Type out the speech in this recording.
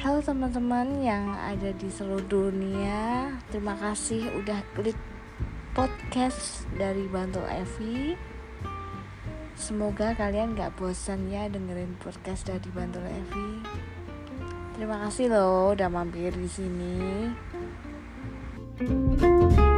Halo teman-teman yang ada di seluruh dunia, terima kasih udah klik podcast dari Bantul Evi. Semoga kalian gak bosan ya dengerin podcast dari Bantul Evi. Terima kasih loh udah mampir di sini.